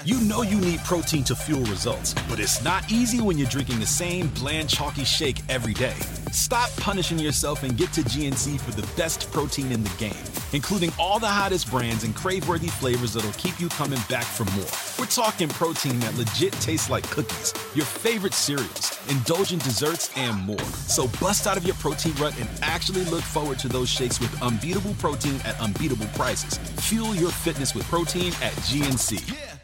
You know you need protein to fuel results, but it's not easy when you're drinking the same bland, chalky shake every day. Stop punishing yourself and get to GNC for the best protein in the game, including all the hottest brands and crave-worthy flavors that'll keep you coming back for more. We're talking protein that legit tastes like cookies, your favorite cereals, indulgent desserts, and more. So bust out of your protein rut and actually look forward to those shakes with unbeatable protein at unbeatable prices. Fuel your fitness with protein at GNC.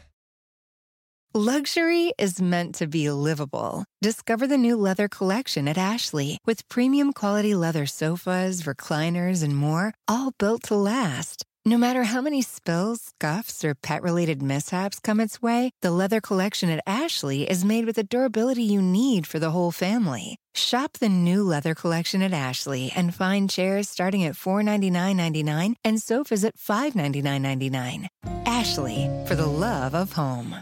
Luxury is meant to be livable. Discover the new leather collection at Ashley with premium quality leather sofas, recliners, and more, all built to last. No matter how many spills, scuffs, or pet-related mishaps come its way, the leather collection at Ashley is made with the durability you need for the whole family. Shop the new leather collection at Ashley and find chairs starting at $499.99 and sofas at $599.99. Ashley, for the love of home.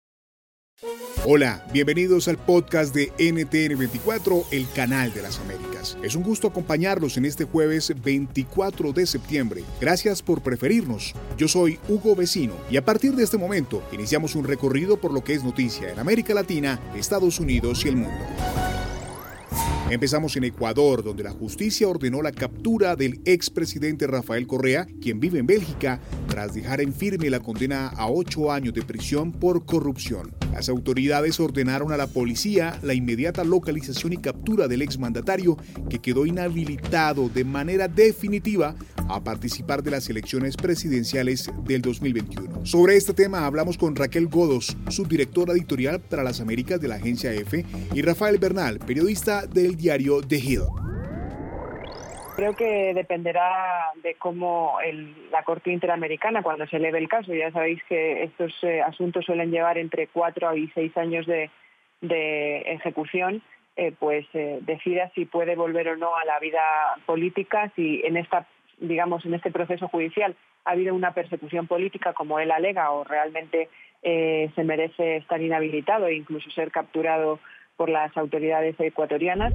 Hola, bienvenidos al podcast de NTN24, el canal de las Américas. Es un gusto acompañarlos en este jueves 24 de septiembre. Gracias por preferirnos. Yo soy Hugo Vecino y a partir de este momento iniciamos un recorrido por lo que es noticia en América Latina, Estados Unidos y el mundo. Empezamos en Ecuador, donde la justicia ordenó la captura del expresidente Rafael Correa, quien vive en Bélgica, tras dejar en firme la condena a 8 años de prisión por corrupción. Las autoridades ordenaron a la policía la inmediata localización y captura del exmandatario, que quedó inhabilitado de manera definitiva a participar de las elecciones presidenciales del 2021. Sobre este tema hablamos con Raquel Godos, subdirectora editorial para las Américas de la agencia EFE, y Rafael Bernal, periodista del diario The Hill. Creo que dependerá de cómo la Corte Interamericana, cuando se eleve el caso, ya sabéis que estos asuntos suelen llevar entre 4 y 6 años de ejecución, decida si puede volver o no a la vida política, si en este proceso judicial ha habido una persecución política como él alega o realmente se merece estar inhabilitado e incluso ser capturado por las autoridades ecuatorianas.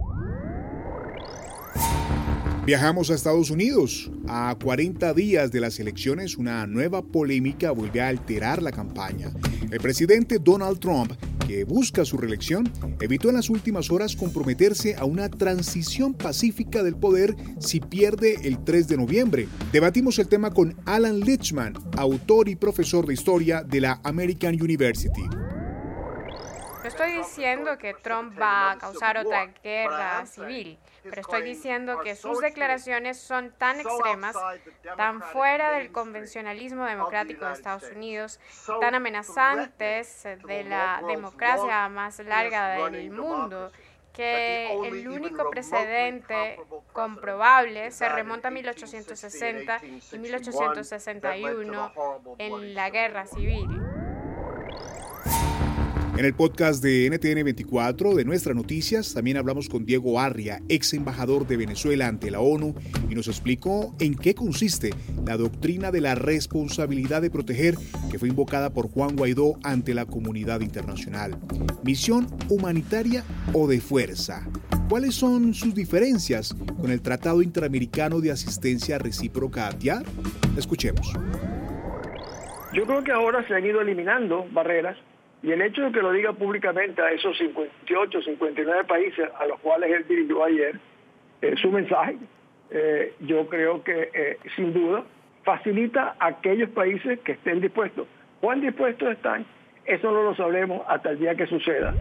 Viajamos a Estados Unidos. A 40 días de las elecciones, una nueva polémica vuelve a alterar la campaña. El presidente Donald Trump, que busca su reelección, evitó en las últimas horas comprometerse a una transición pacífica del poder si pierde el 3 de noviembre. Debatimos el tema con Alan Lichtman, autor y profesor de historia de la American University. No estoy diciendo que Trump va a causar otra guerra civil, pero estoy diciendo que sus declaraciones son tan extremas, tan fuera del convencionalismo democrático de Estados Unidos, tan amenazantes de la democracia más larga del mundo, que el único precedente comprobable se remonta a 1860 y 1861 en la guerra civil. En el podcast de NTN24 de Nuestras Noticias también hablamos con Diego Arria, ex embajador de Venezuela ante la ONU, y nos explicó en qué consiste la doctrina de la responsabilidad de proteger que fue invocada por Juan Guaidó ante la comunidad internacional. ¿Misión humanitaria o de fuerza? ¿Cuáles son sus diferencias con el Tratado Interamericano de Asistencia Recíproca ATIAR? Escuchemos. Yo creo que ahora se han ido eliminando barreras. Y el hecho de que lo diga públicamente a esos 58, 59 países a los cuales él dirigió ayer, su mensaje, yo creo que sin duda facilita a aquellos países que estén dispuestos. ¿Cuán dispuestos están? Eso no lo sabremos hasta el día que suceda.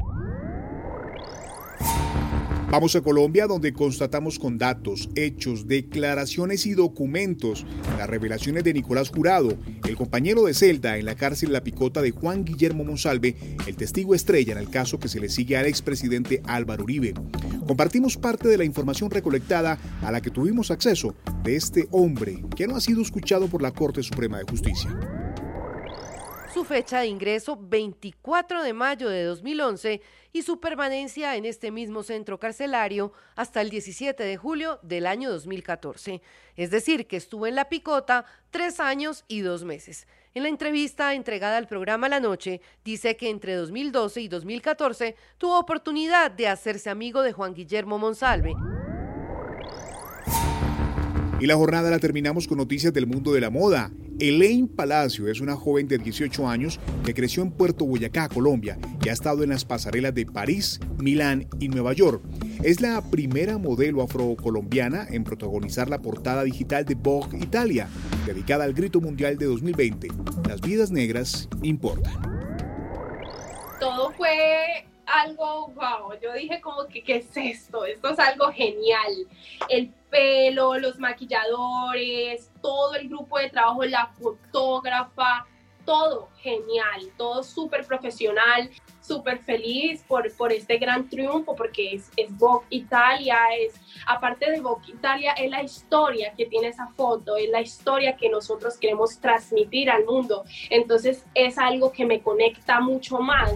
Vamos a Colombia, donde constatamos con datos, hechos, declaraciones y documentos las revelaciones de Nicolás Jurado, el compañero de celda en la cárcel La Picota de Juan Guillermo Monsalve, el testigo estrella en el caso que se le sigue al expresidente Álvaro Uribe. Compartimos parte de la información recolectada a la que tuvimos acceso de este hombre que no ha sido escuchado por la Corte Suprema de Justicia. Su fecha de ingreso 24 de mayo de 2011 y su permanencia en este mismo centro carcelario hasta el 17 de julio del año 2014. Es decir, que estuvo en La Picota 3 años y 2 meses. En la entrevista entregada al programa La Noche, dice que entre 2012 y 2014 tuvo oportunidad de hacerse amigo de Juan Guillermo Monsalve. Y la jornada la terminamos con noticias del mundo de la moda. Elaine Palacio es una joven de 18 años que creció en Puerto Boyacá, Colombia, y ha estado en las pasarelas de París, Milán y Nueva York. Es la primera modelo afrocolombiana en protagonizar la portada digital de Vogue Italia, dedicada al grito mundial de 2020. Las vidas negras importan. Todo fue algo wow, yo dije como que ¿qué es esto? Esto es algo genial. El pelo, los maquilladores, todo el grupo de trabajo, la fotógrafa, todo genial, todo súper profesional, súper feliz por este gran triunfo, porque es Vogue Italia, aparte de Vogue Italia, es la historia que tiene esa foto, es la historia que nosotros queremos transmitir al mundo, entonces es algo que me conecta mucho más.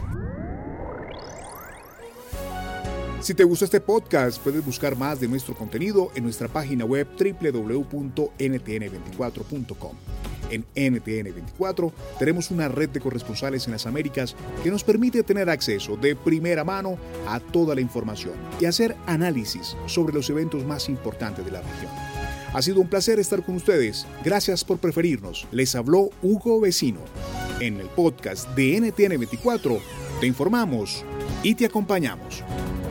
Si te gustó este podcast, puedes buscar más de nuestro contenido en nuestra página web www.ntn24.com. En NTN24 tenemos una red de corresponsales en las Américas que nos permite tener acceso de primera mano a toda la información y hacer análisis sobre los eventos más importantes de la región. Ha sido un placer estar con ustedes. Gracias por preferirnos. Les habló Hugo Vecino. En el podcast de NTN24 te informamos y te acompañamos.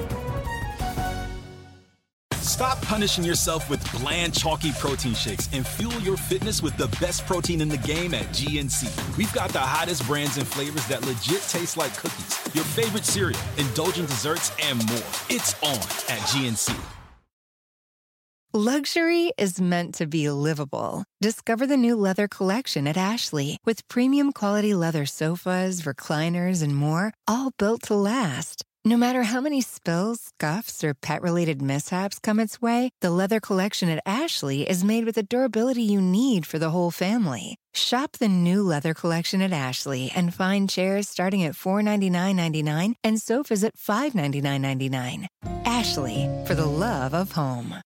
Stop punishing yourself with bland, chalky protein shakes and fuel your fitness with the best protein in the game at GNC. We've got the hottest brands and flavors that legit taste like cookies, your favorite cereal, indulgent desserts, and more. It's on at GNC. Luxury is meant to be livable. Discover the new leather collection at Ashley with premium quality leather sofas, recliners, and more, all built to last. No matter how many spills, scuffs, or pet-related mishaps come its way, the leather collection at Ashley is made with the durability you need for the whole family. Shop the new leather collection at Ashley and find chairs starting at $499.99 and sofas at $599.99. Ashley, for the love of home.